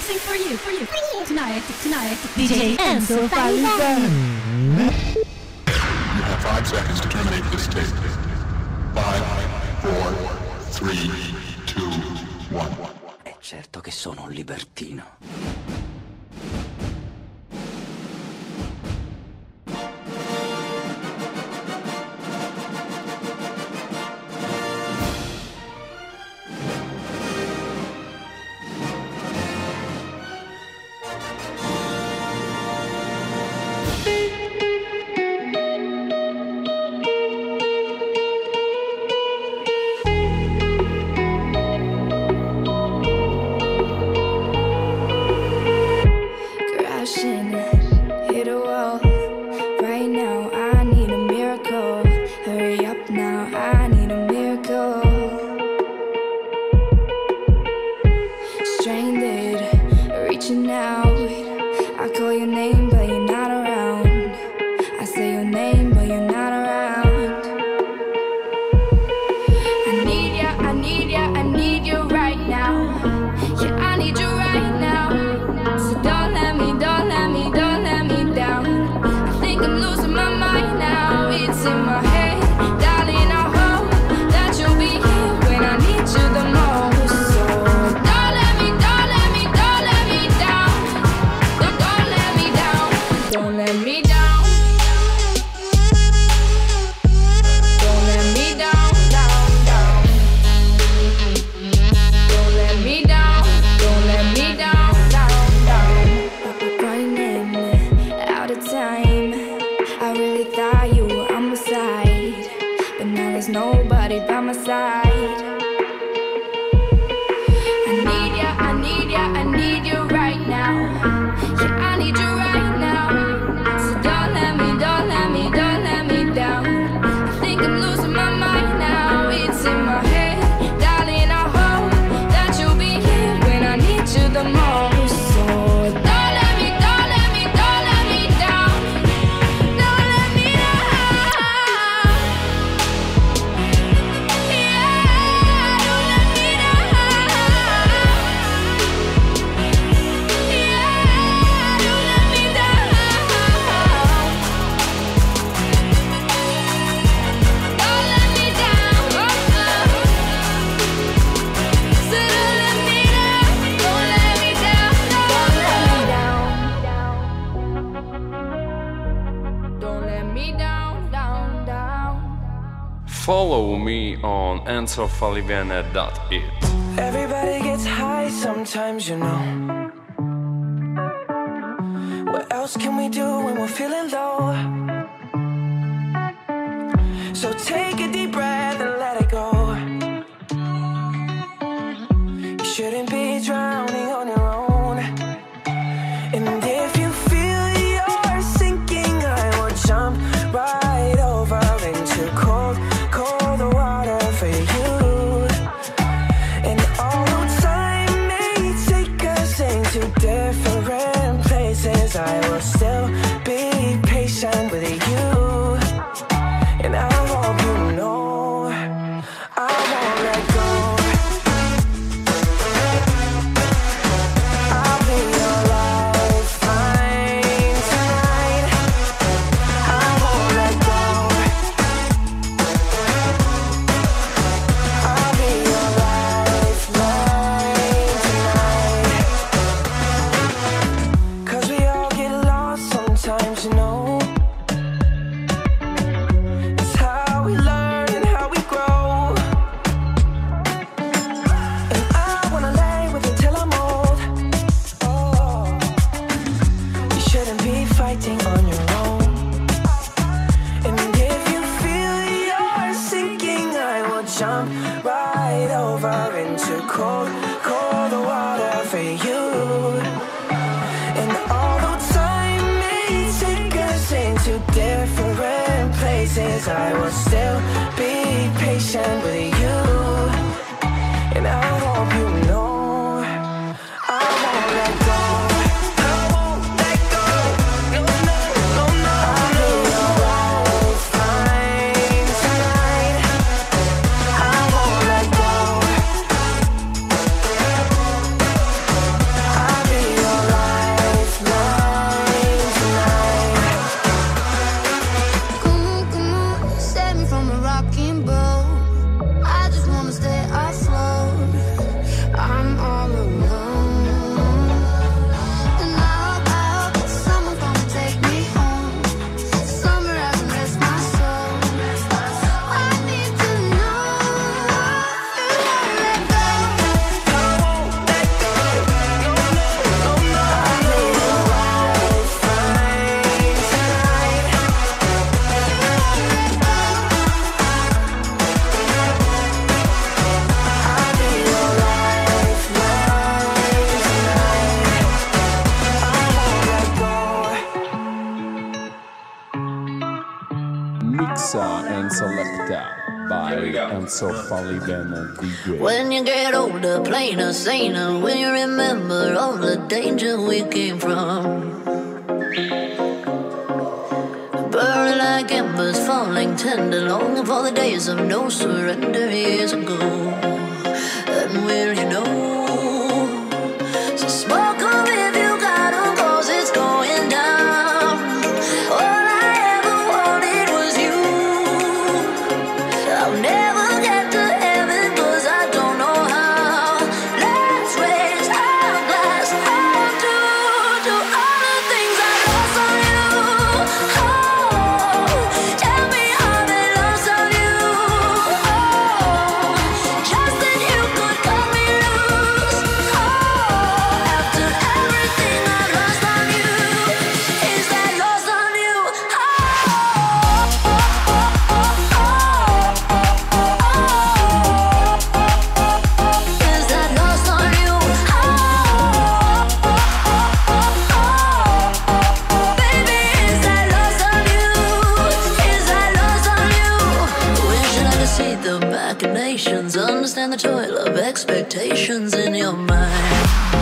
Tonight, DJ Enzo Falivene. You have 5 seconds to terminate this tape. 5, 4, 3, 2, 1. È certo che sono un libertino. Follow me on enzofalivene.it. Everybody gets high sometimes, you know. What else can we do when we're feeling low? So take a deep breath and let it go. You shouldn't be drowning on your own. And if you feel you're sinking, I will jump right over into cold water for you. And although time may take us into different places, I will still be patient with you. And I hope you know I won't let go. I'll be your lifeline tonight. I won't let go. Jump right over into cold water for you. And although time may take us into different places, I will still be patient with you. And I hope you know I won't let go. I'll be by Enzo Falliven DJ. When you get older, plainer, saner, will you remember all the danger we came from? Burning like embers, falling tender, longing for the days of no surrender years ago. And will you know? So smoke 'em if you got 'em, 'cause it's going down. All I ever wanted was you. I'll never get to heaven 'cause I don't know how. Let's raise our glass up to all the things I lost on you. Oh, tell me how they lost on you. Oh, just that you could cut me loose. Oh, after everything I lost on you, is that lost on you? Is that lost on you? Baby, is that lost on you? Is that lost on you? Wish I could see the machinations, understand the toil of expectations in your mind.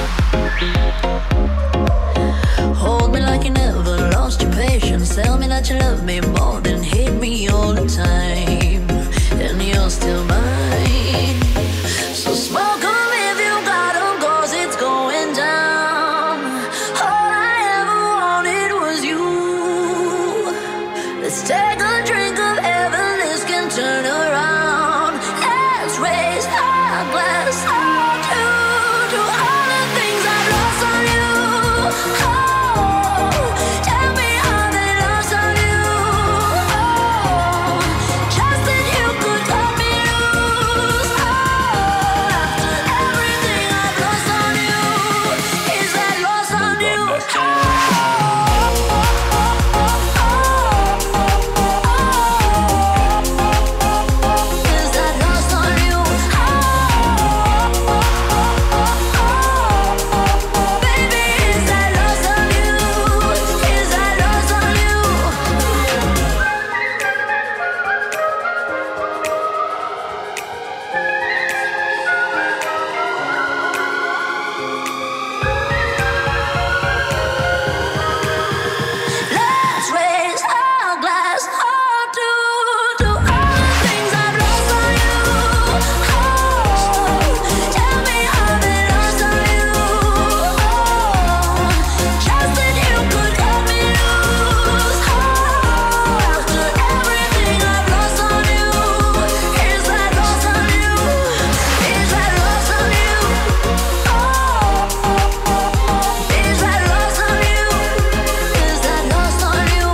Hold me like you never lost your patience. Tell me that you love me more than hate me all the time. And you're still mine. So smoke 'em if you got 'em, 'cause it's going down. All I ever wanted was you. Let's take a drink of heaven, this can turn around. Let's raise our glass up to all the things I've lost on you. Oh, tell me how they lost on you. Oh, just that you could cut me loose. Oh, after everything I've lost on you, is that lost on you? Is that lost on you? Baby, is that lost on you? Is that lost on you? Let's raise our glass up to all the things I've lost on you. Oh, tell me how they lost on you. Oh, just that you could cut me loose. Oh, after everything I've lost on you, is that lost on you? Is that lost on you? Oh, is that lost on you? Is that lost on you?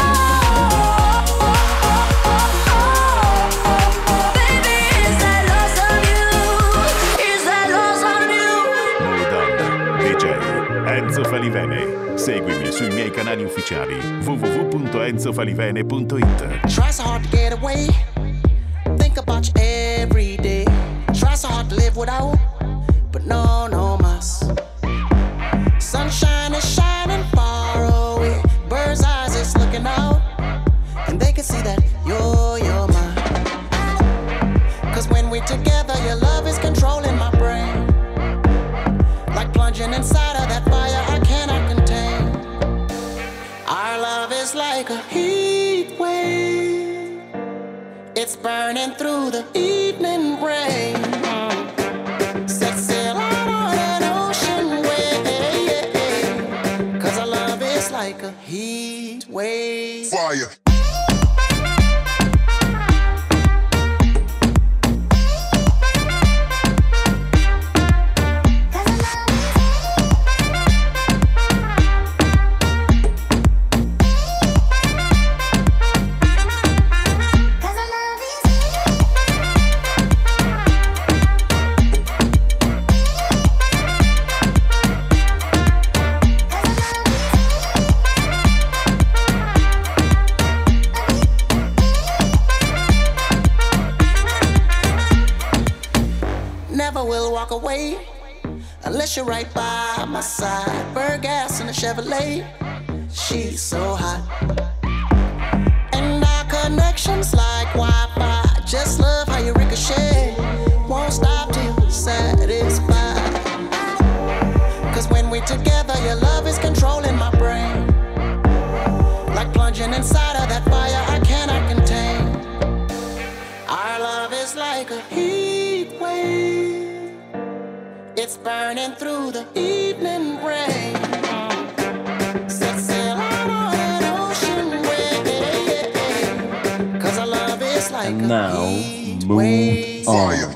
Baby, is that lost on you? Is that lost on you? Modon DJ Enzo Falivene. Seguimi sui miei canali ufficiali www.enzofalivene.it. Try so hard to get away. Think about you every day. Try so hard to live without, but no mas. Sunshine is shining far away. Bird's eyes is looking out, and they can see that you're mine. 'Cause when we're together, your love is controlling my brain. Like plunging inside of that fire I cannot contain. Our love is like a heat wave. It's burning through the evening rain. Set sail out on an ocean wave. 'Cause our love is like a heat wave. Fire. Never will walk away unless you're right by my side. Burn gas in a Chevrolet. She's so hot. And our connection's like Wi-Fi. Just love how you ricochet. Won't stop till you're satisfied. Cause when we're together, your love is controlling my brain. Like plunging inside of that fire I cannot contain. Our love is like a heat wave. It's burning through the evening rain. Set sail out on an ocean wave. Cause our love is like And a now, heat move wave. on.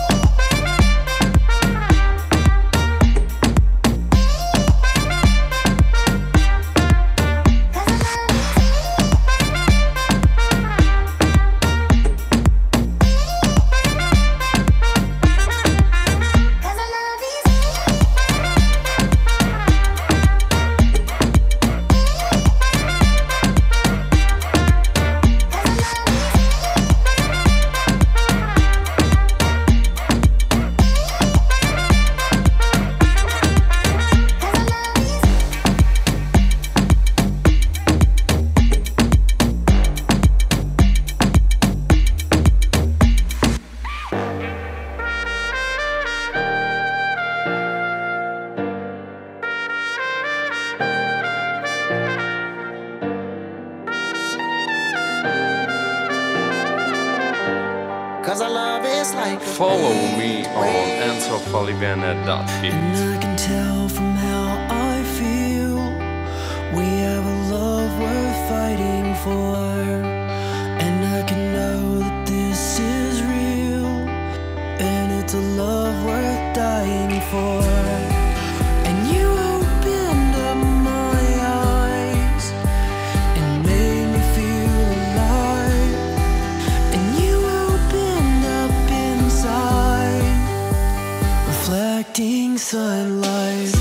Cause our love is like a Follow me on enzofalivene.it. And I can tell from how I feel we have a love worth fighting for. And I can know that this is real. And it's a love worth dying for. And you opened up my eyes and made me feel alive. And you opened up inside, reflecting sunlight.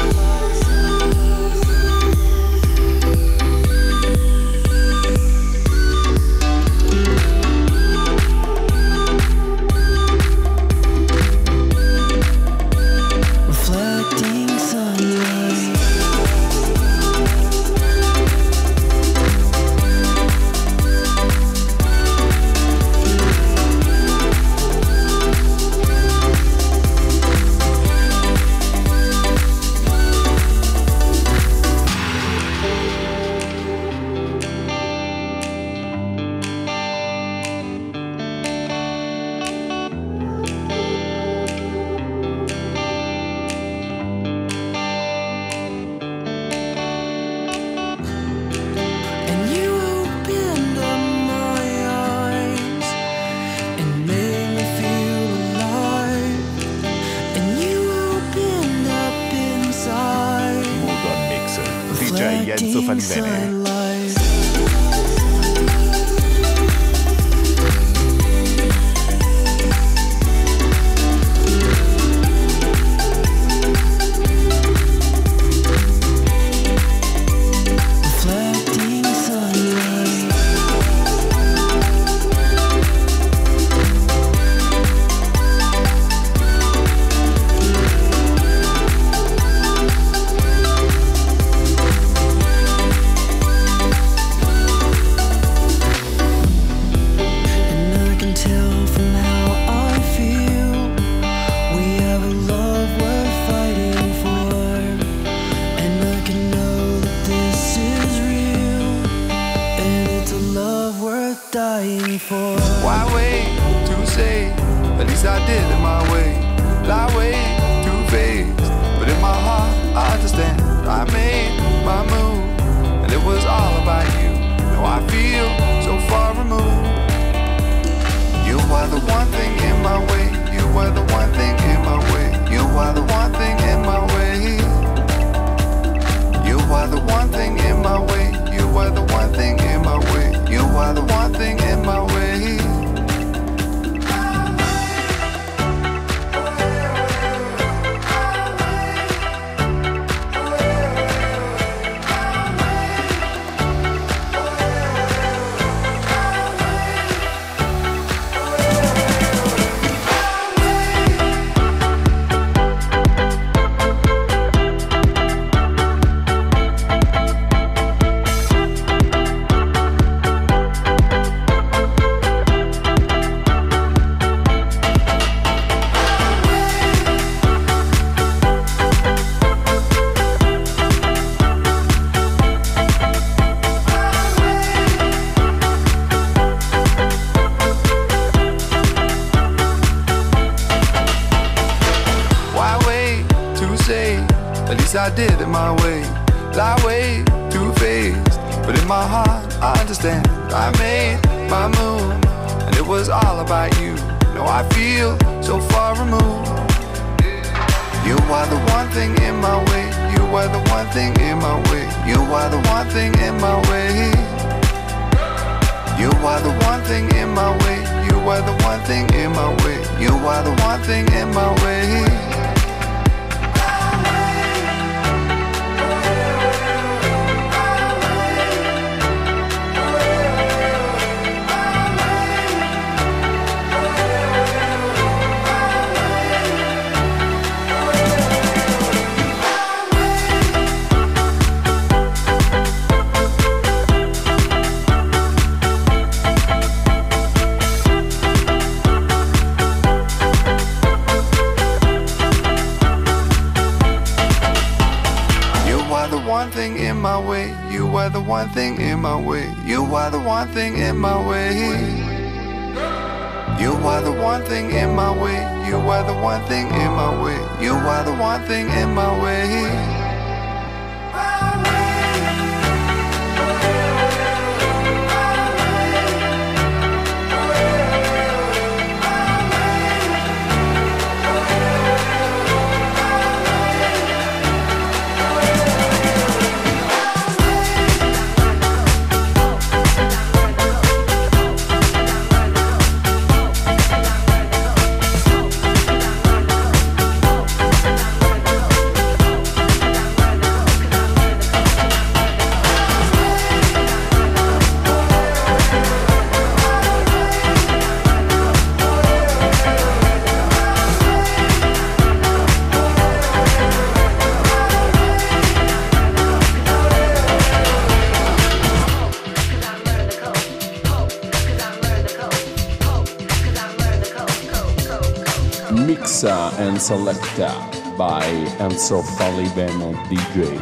Reflecting sunlight. And you opened up my eyes and made me feel alive. And you opened up inside, Mood on Mix, DJ Enzo reflecting Falivene. sunlight. Reflecting sunlight. And I can tell from how I feel we have a love worth fighting for. And I can know that this is real. And it's a love worth dying for. Why wait to say? At least I did it my way. Lie way too faced, but in my heart I understand. I made my move, and it was all about you. Now I feel so far removed. You are the one thing in my way. You are the one thing in my way. You are the one thing in my way. You are the one thing in my way. You are the one thing in my way. You are the one thing in my way. least I did it my way. Lie way too faced, but in my heart I understand. I made my move, and it was all about you. Now I feel so far removed. You are the one thing in my way. You are the one thing in my way. You are the one thing in my way. You are the one thing in my way. You are the one thing in my way. You are the one thing in my way. One thing in my way. You are the one thing in my way. You are the one thing in my way. You are the one thing in my way. You are the one thing in my way. You are the one thing in my way. Mixa and Selecta by Enzo Falivene DJ.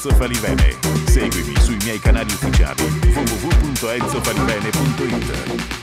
Enzo Falivene. Seguimi sui miei canali ufficiali www.enzofalivene.it.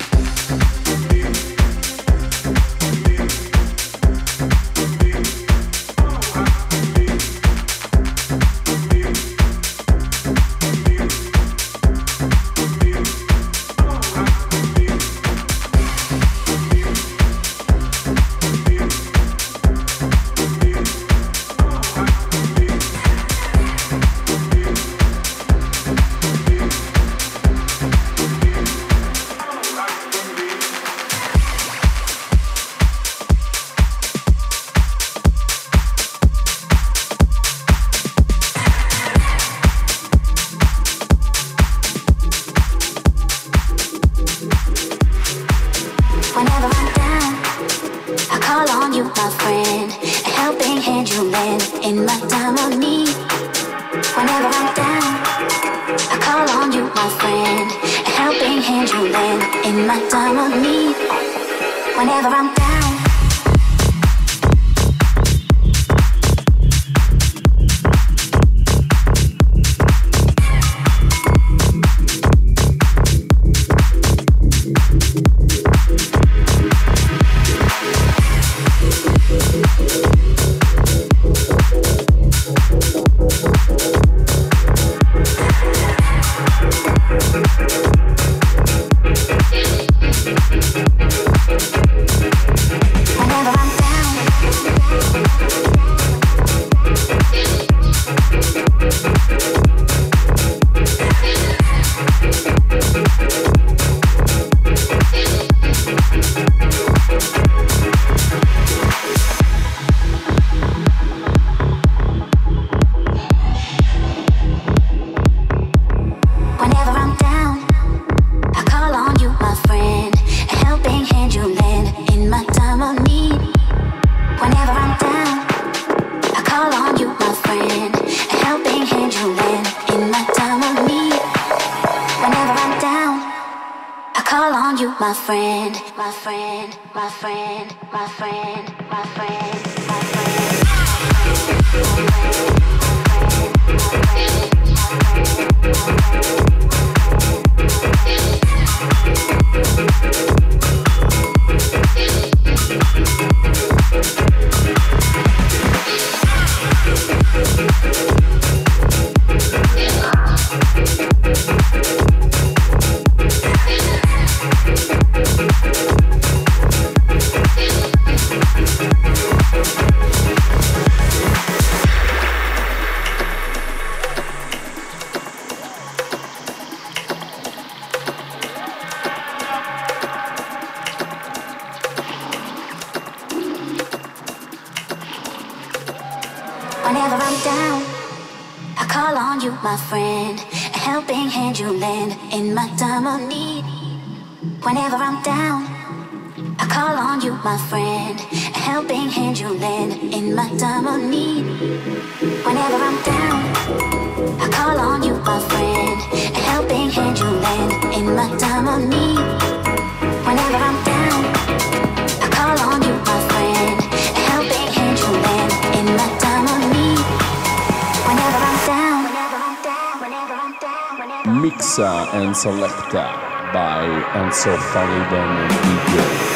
Whenever I'm down, I call on you, my friend. A helping hand you lend in my time of need. Whenever I'm down, I call on you, my friend. A helping hand you lend in my time of need. Whenever I'm down, I call on you, my friend. A helping hand you lend in my time of need. Whenever I'm down, I call on you, my friend. A helping hand you lend in my time of need. Whenever I'm down, whenever I'm down, whenever I'm down, whenever I'm down. Mixa and Selecta by Enzo Falivene DJ.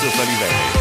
Enzo Falivene.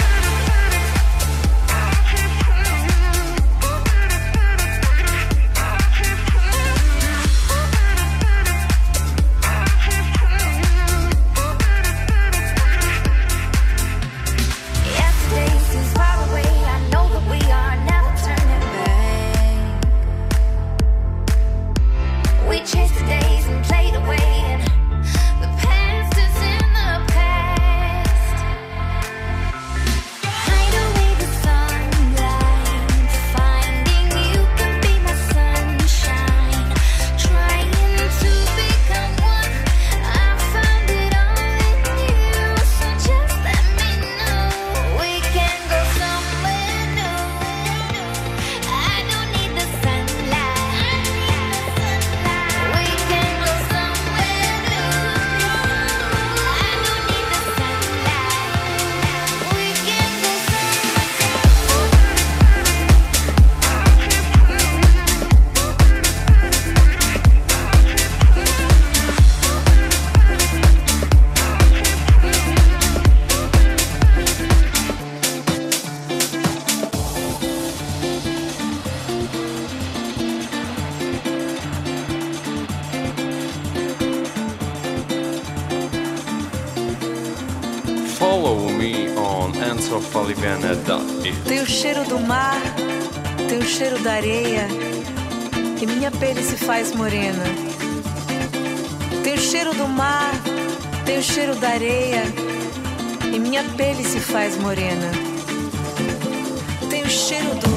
Follow me on enzofalivene.it. Tem o cheiro do mar, tem o cheiro da areia, e minha pele se faz morena. Tem o cheiro do mar, tem o cheiro da areia, e minha pele se faz morena. Tem o cheiro do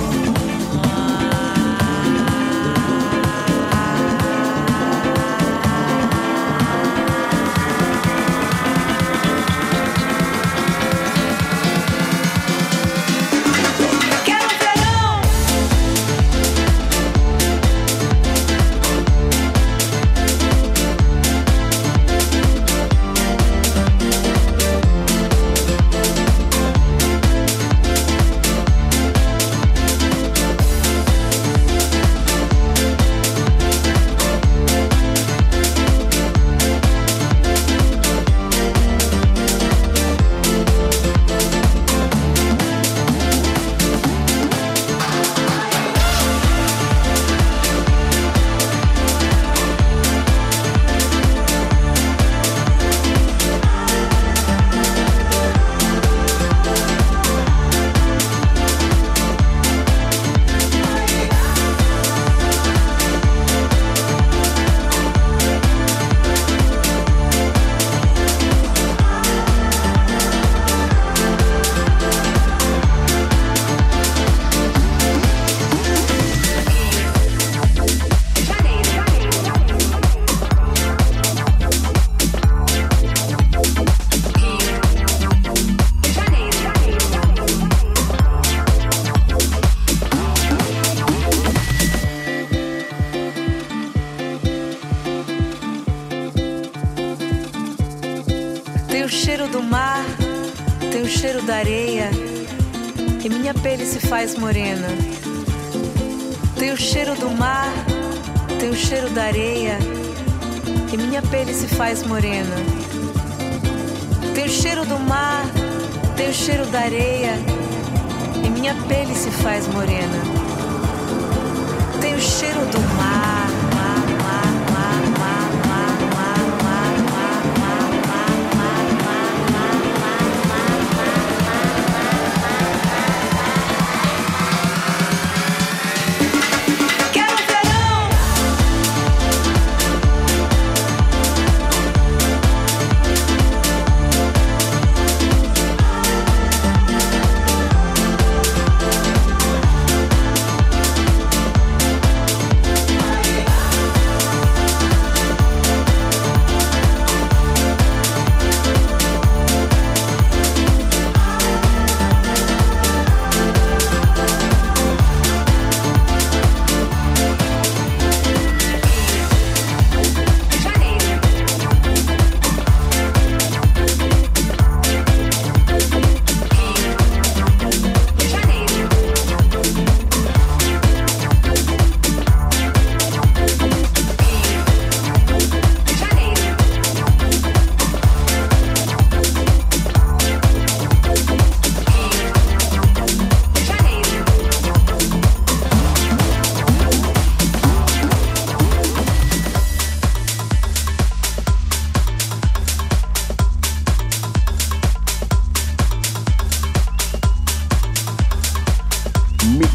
da areia, e minha pele se faz morena. Tem o cheiro do mar, tem o cheiro da areia, e minha pele se faz morena. Tem o cheiro do mar, tem o cheiro da areia, e minha pele se faz morena. Tem o cheiro do mar.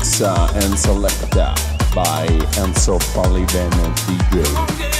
Mixa and Selecta by Enzo Faliben DJ.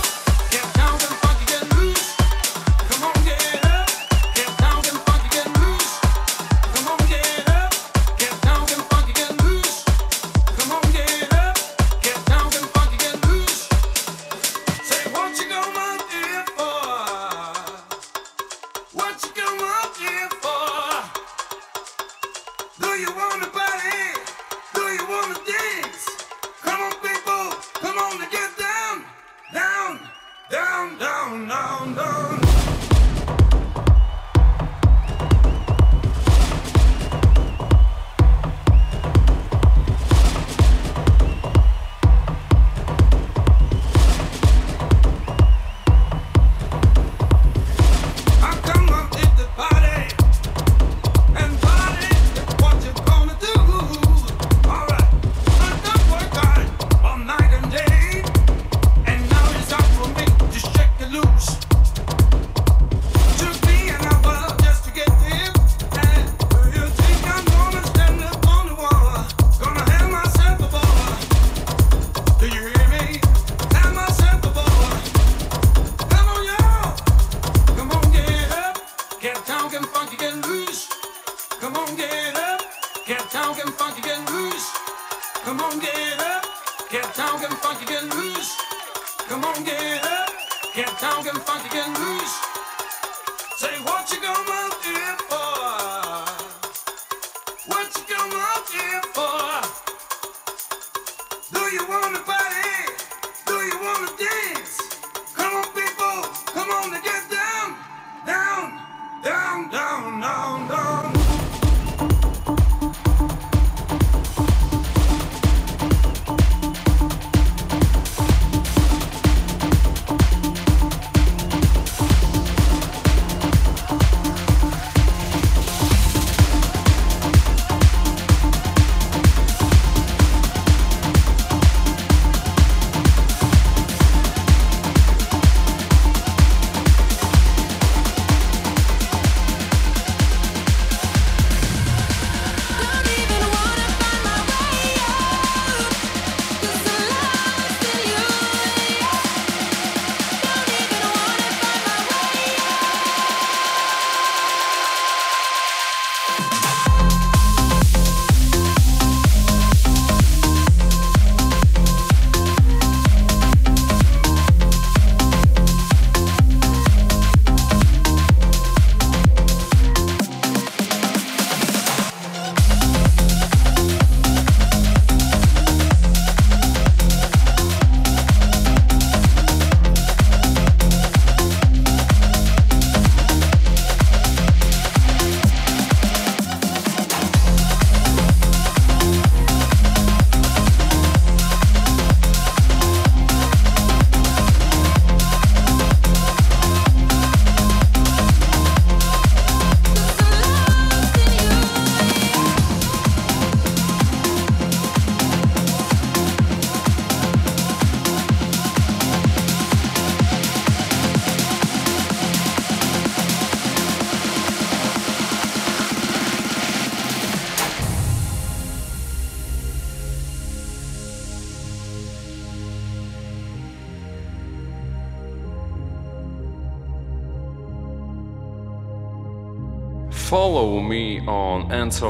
Follow me on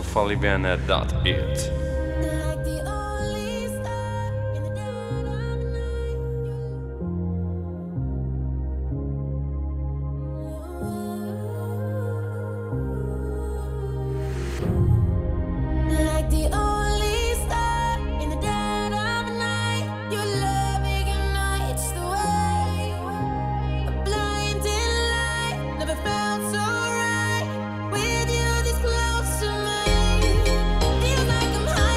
enzofalivene.it. Feels like I'm high.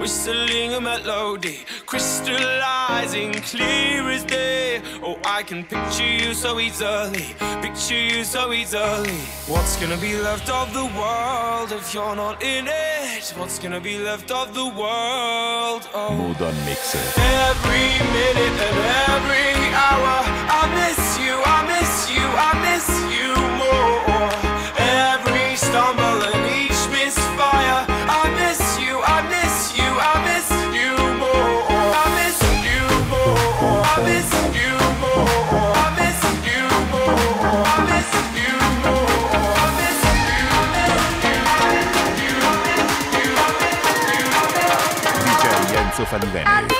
whistling a melody, crystallizing clear as day. Oh, I can picture you so easily, picture you so easily. What's gonna be left of the world if you're not in it? What's gonna be left of the world? Oh, Mood on Mixer. every minute and every hour, I miss you, I miss you, I miss you more. Every stumble and each misfire, I miss you, I miss you, I miss you more. I miss you more, I miss you more, I miss you more, I miss you more, I miss you. DJ Enzo Falivene.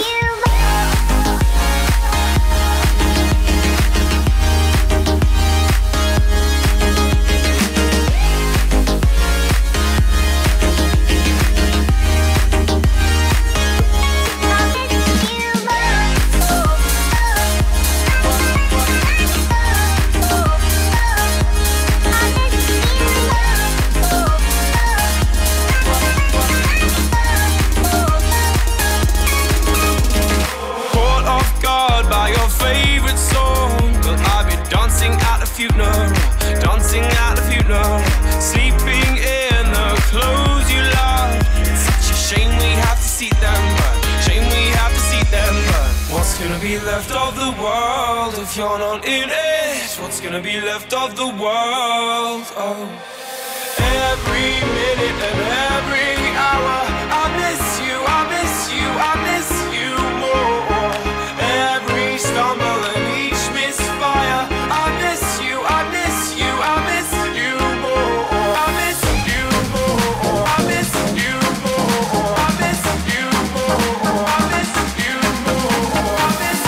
Funeral, dancing at the funeral, sleeping in the clothes you love. It's such a shame we have to see them, but shame we have to see them, but what's gonna be left of the world if you're not in it? What's gonna be left of the world? Oh, every minute and every hour, I miss you, I miss you, I miss you more. Every stumble and each misfire, I miss you, I miss you, I miss you more. I miss you more, I miss you more, I miss you more, I miss you more, I miss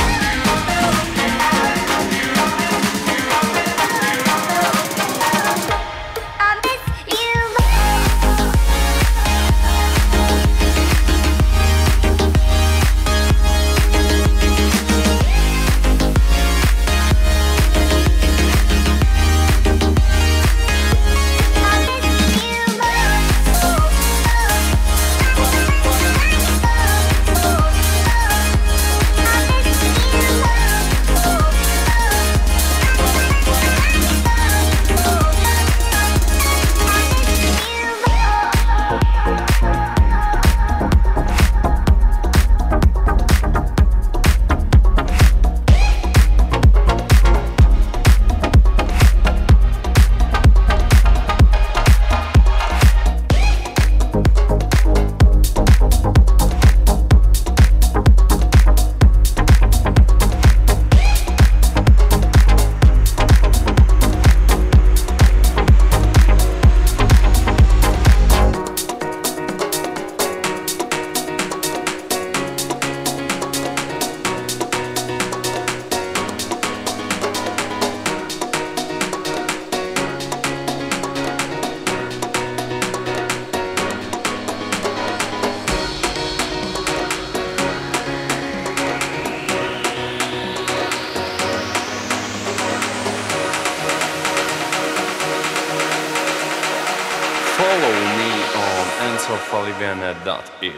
Follow me on enzofalivene.it.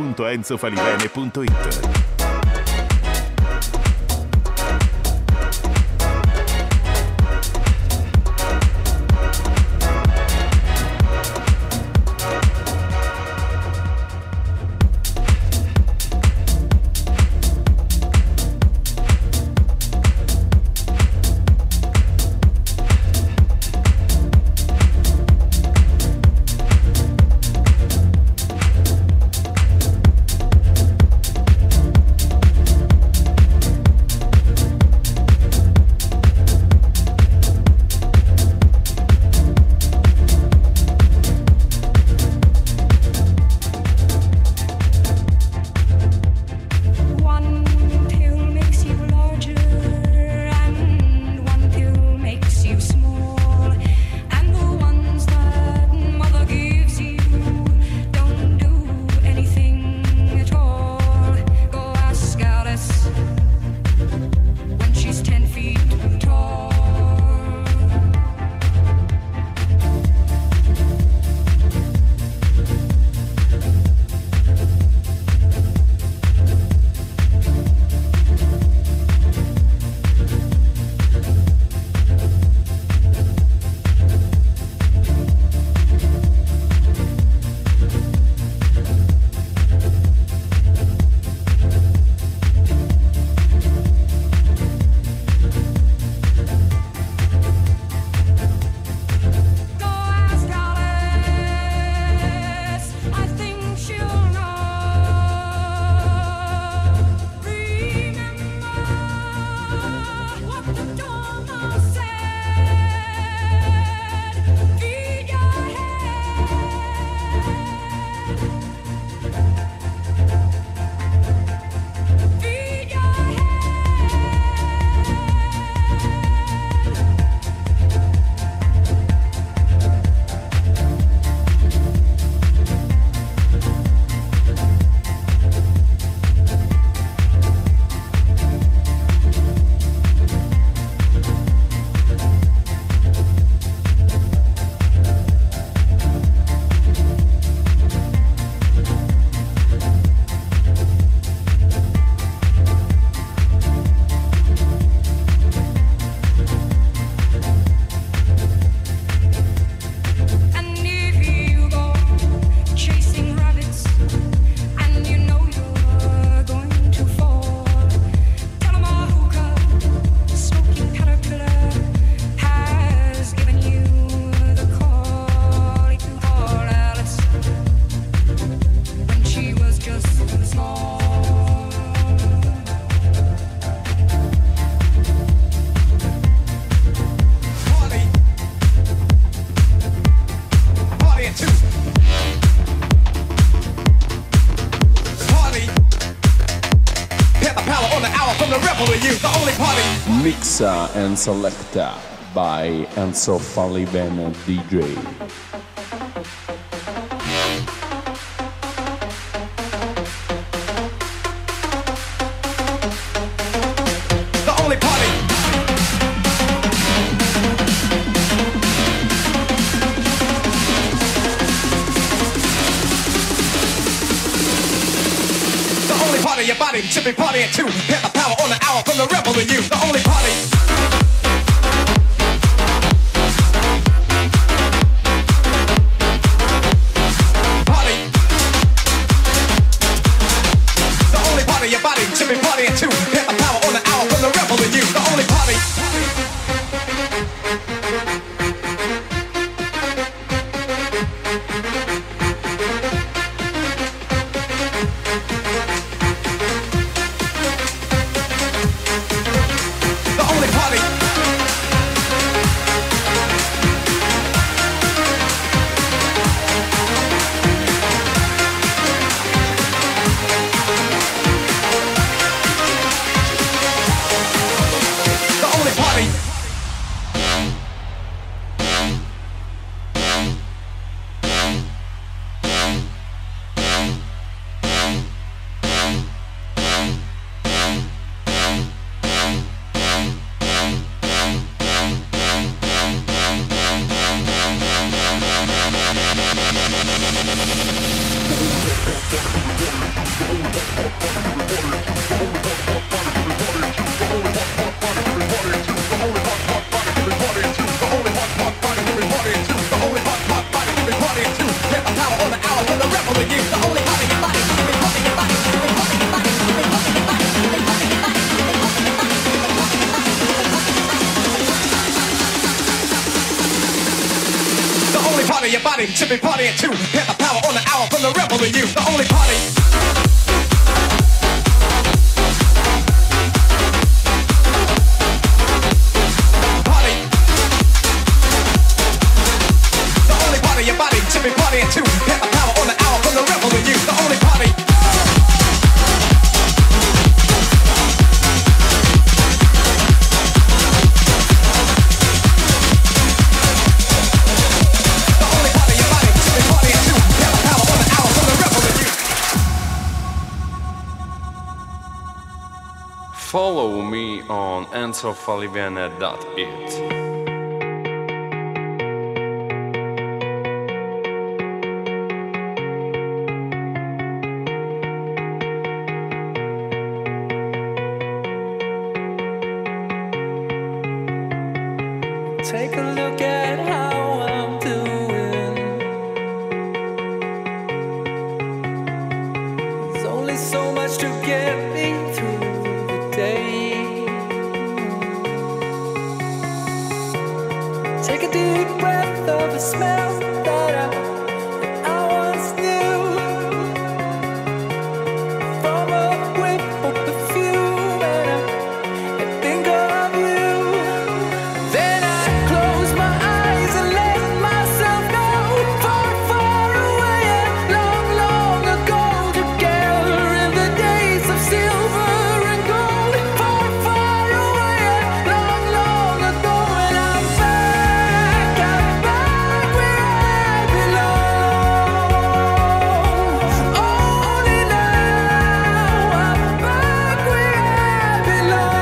www.enzofalivene.it. Mixa and Selecta by Enzo Falivene DJ. Your body should be partying too. Get the power on the hour from the rebel in you. The only party. Your body should be partying too. Get the power on the hour from the rebel in you. The only party. Your body should be partying too. Get the power on the hour from the rebel in you. The only party. Your body should be partying too. Get the power on the hour from the rebel in you. The only party. The only party. Your body should be partying too. Get the power on the hour from the rebel in you. Follow me on enzofalivene.it. Take a look at how I'm doing. There's only so much to get me through the day. Take a deep breath of the smell that I once knew. From a whiff of perfume and I think of you. Then I close my eyes and let myself go far, far away and long, long ago. Together in the days of silver and gold. Far, far away and long, long ago. And I'm back where I belong. Only now I'm back where I belong.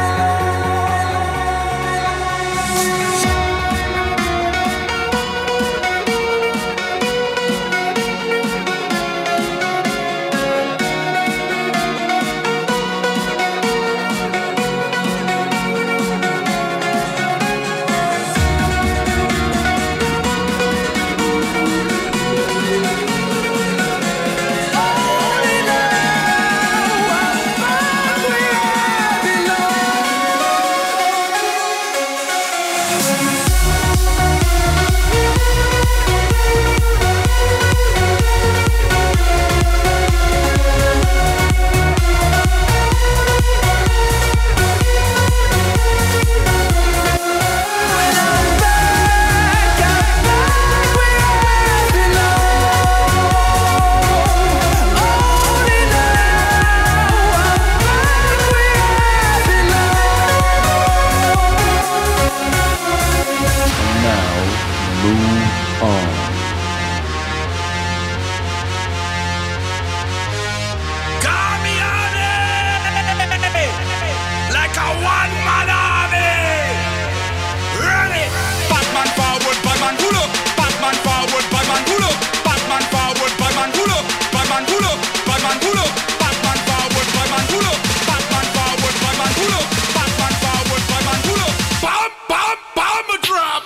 Like a one-man army. Ready? Batman forward, Batman pull up. Batman forward, Batman pull up. Batman forward, Batman pull up. Batman pull up. Batman pull up. Batman forward, Batman pull up. Batman forward, Batman pull up. Batman forward, Batman pull up. Bam, bam, bam, a drop.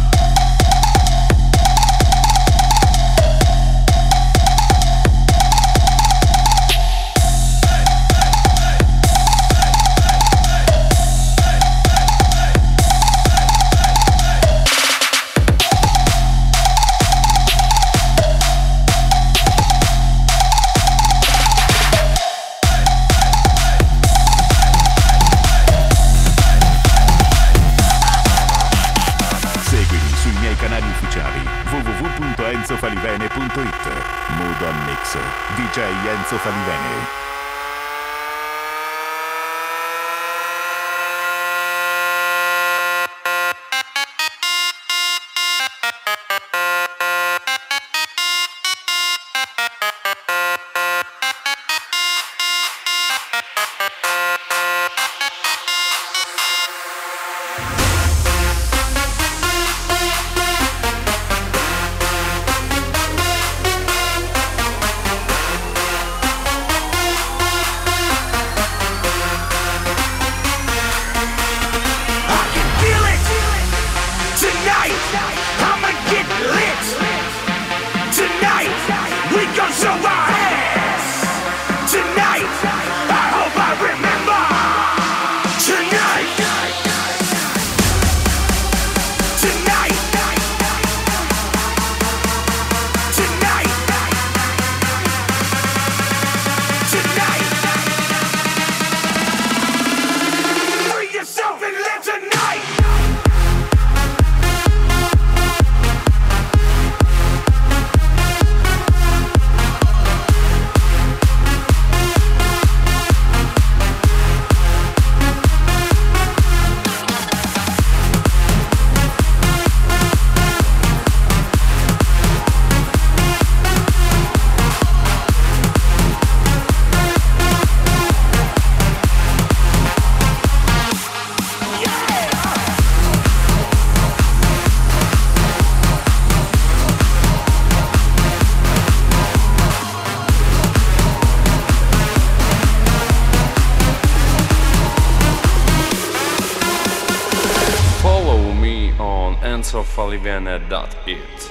Seguimi sui miei canali ufficiali www.enzofalivene.it. Mood on Mix, DJ Enzo Falivene. enzofalivene.it.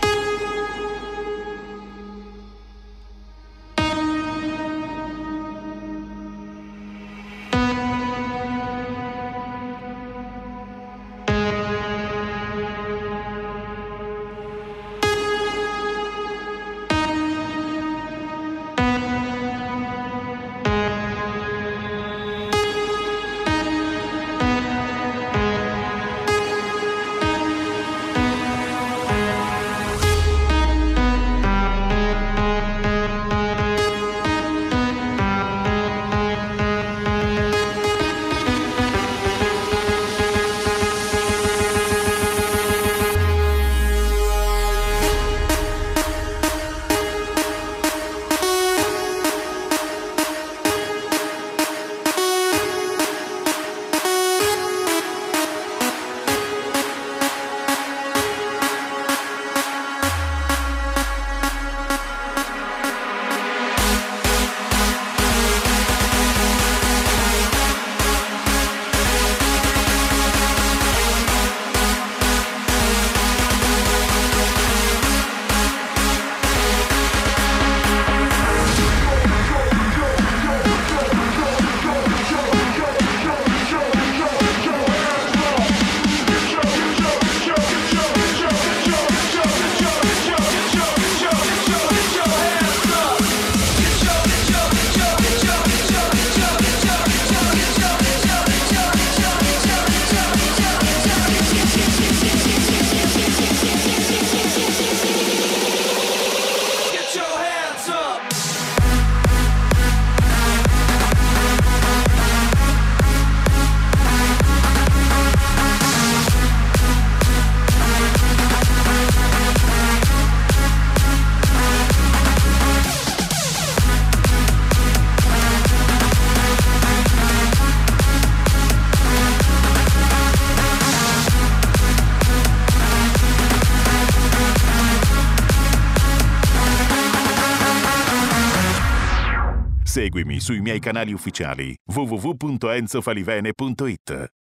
Seguimi sui miei canali ufficiali www.enzofalivene.it.